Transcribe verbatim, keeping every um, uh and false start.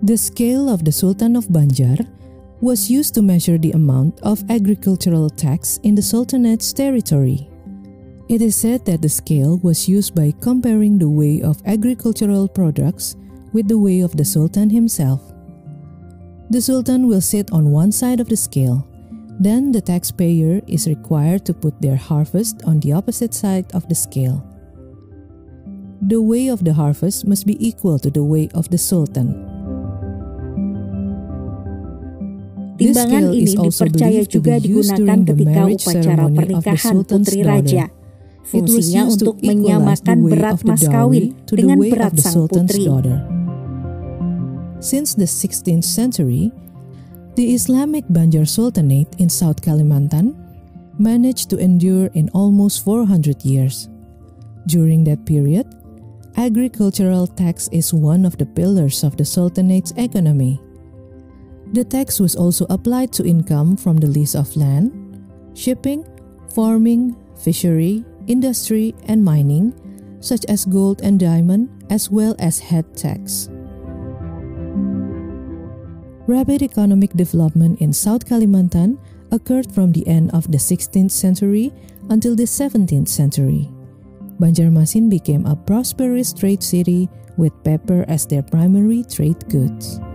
The scale of the Sultan of Banjar was used to measure the amount of agricultural tax in the Sultanate's territory. It is said that the scale was used by comparing the weight of agricultural products with the weight of the Sultan himself. The Sultan will sit on one side of the scale. Then the taxpayer is required to put their harvest on the opposite side of the scale. The weight of the harvest must be equal to the weight of the Sultan. Timbangan ini dipercaya juga digunakan ketika upacara pernikahan putri raja. Fungsinya untuk menyamakan berat mas kawin dengan berat sang putri. Since the sixteenth century, the Islamic Banjar Sultanate in South Kalimantan managed to endure in almost four hundred years. During that period, agricultural tax is one of the pillars of the Sultanate's economy. The tax was also applied to income from the lease of land, shipping, farming, fishery, industry, and mining, such as gold and diamond, as well as head tax. Rapid economic development in South Kalimantan occurred from the end of the sixteenth century until the seventeenth century. Banjarmasin became a prosperous trade city with pepper as their primary trade goods.